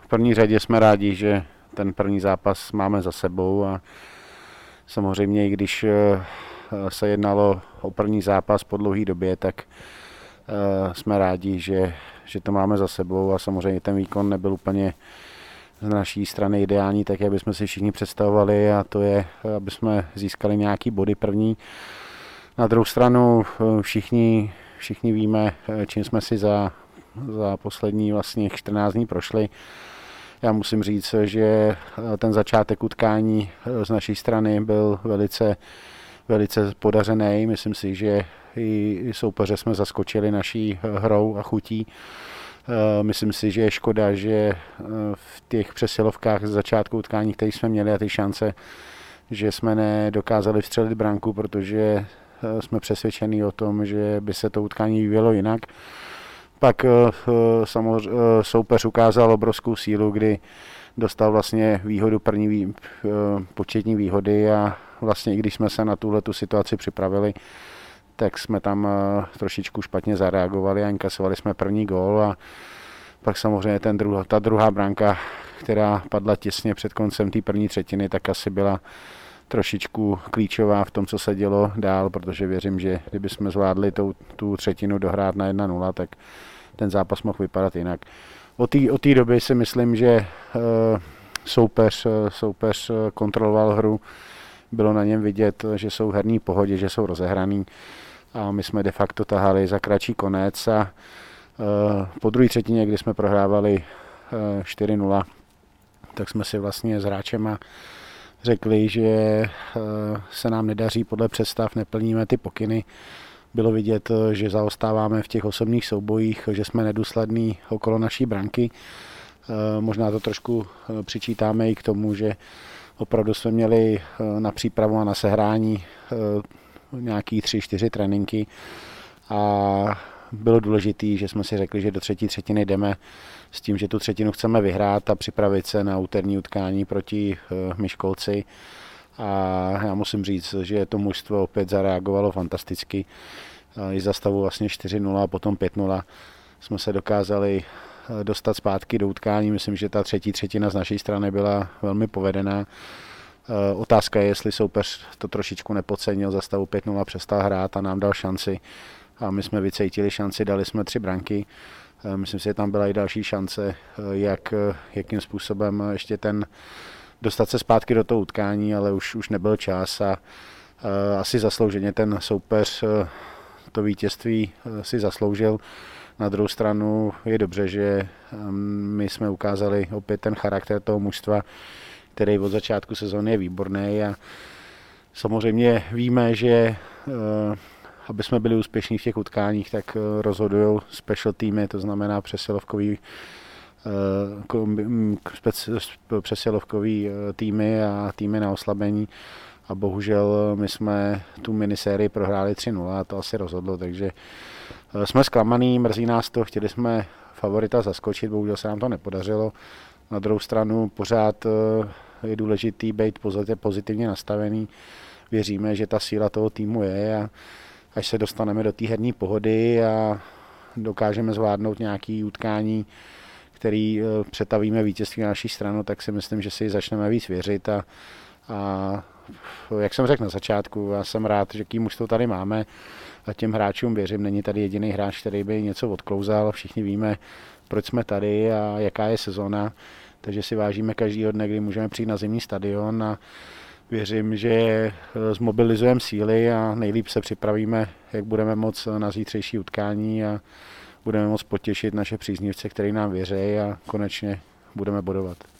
první řadě jsme rádi, že ten první zápas máme za sebou a samozřejmě i když se jednalo o první zápas po dlouhé době, tak jsme rádi, že to máme za sebou a samozřejmě ten výkon nebyl úplně z naší strany ideální, tak jak bychom si všichni představovali, a to je, aby jsme získali nějaký body první. Na druhou stranu všichni víme, čím jsme si za poslední vlastně 14 dní prošli. Já musím říct, že ten začátek utkání z naší strany byl velice podařený. Myslím si, že i soupeře jsme zaskočili naší hrou a chutí. Myslím si, že je škoda, že v těch přesilovkách z začátku utkání, které jsme měli a ty šance, že jsme nedokázali vstřelit branku, protože jsme přesvědčeni o tom, že by se to utkání vyvíjelo jinak. Pak samozřejmě soupeř ukázal obrovskou sílu, kdy dostal vlastně výhodu první početní výhody a vlastně i když jsme se na tuhletu situaci připravili, tak jsme tam trošičku špatně zareagovali a inkasovali jsme první gól a pak samozřejmě ta druhá branka, která padla těsně před koncem té první třetiny, tak asi byla trošičku klíčová v tom, co se dělo dál, protože věřím, že kdyby jsme zvládli tu třetinu dohrát na 1-0, tak ten zápas mohl vypadat jinak. Od té doby si myslím, že soupeř kontroloval hru, bylo na něm vidět, že jsou herní pohodě, že jsou rozehraný a my jsme de facto tahali za kratší konec a po druhé třetině, kdy jsme prohrávali 4-0, tak jsme si vlastně s hráčema řekli, že se nám nedaří podle představ, neplníme ty pokyny. Bylo vidět, že zaostáváme v těch osobních soubojích, že jsme nedůslední okolo naší branky. Možná to trošku přičítáme i k tomu, že opravdu jsme měli na přípravu a na sehrání nějaký 3-4 tréninky a bylo důležité, že jsme si řekli, že do třetí třetiny jdeme s tím, že tu třetinu chceme vyhrát a připravit se na úterní utkání proti Myškolci. A já musím říct, že to mužstvo opět zareagovalo fantasticky. I za stavu vlastně 4-0 a potom 5-0 jsme se dokázali dostat zpátky do utkání. Myslím, že ta třetí třetina z naší strany byla velmi povedená. Otázka je, jestli soupeř to trošičku nepodcenil, za stavu 5-0 přestal hrát a nám dal šanci. A my jsme vycítili šanci, dali jsme 3 branky. Myslím si, že tam byla i další šance, jakým způsobem ještě dostat se zpátky do toho utkání, ale už nebyl čas a asi zaslouženě ten soupeř to vítězství si zasloužil. Na druhou stranu je dobře, že my jsme ukázali opět ten charakter toho mužstva, který od začátku sezóny je výborný a samozřejmě víme, že aby jsme byli úspěšní v těch utkáních, tak rozhodují special týmy, to znamená přesilovkový týmy a týmy na oslabení. A bohužel my jsme tu minisérii prohráli 3-0 a to asi rozhodlo, takže jsme zklamaný, mrzí nás to, chtěli jsme favorita zaskočit, bohužel se nám to nepodařilo. Na druhou stranu pořád je důležitý být pozitivně nastavený. Věříme, že ta síla toho týmu je a až se dostaneme do té herní pohody a dokážeme zvládnout nějaké utkání, který přetavíme vítězství na naší stranu, tak si myslím, že si začneme víc věřit a jak jsem řekl na začátku, já jsem rád, že kým už to tady máme a těm hráčům věřím, není tady jediný hráč, který by něco odklouzal, všichni víme, proč jsme tady a jaká je sezóna, takže si vážíme každýho dne, kdy můžeme přijít na zimní stadion a věřím, že zmobilizujeme síly a nejlíp se připravíme, jak budeme moc na zítřejší utkání a budeme moc potěšit naše příznivce, který nám věří a konečně budeme bodovat.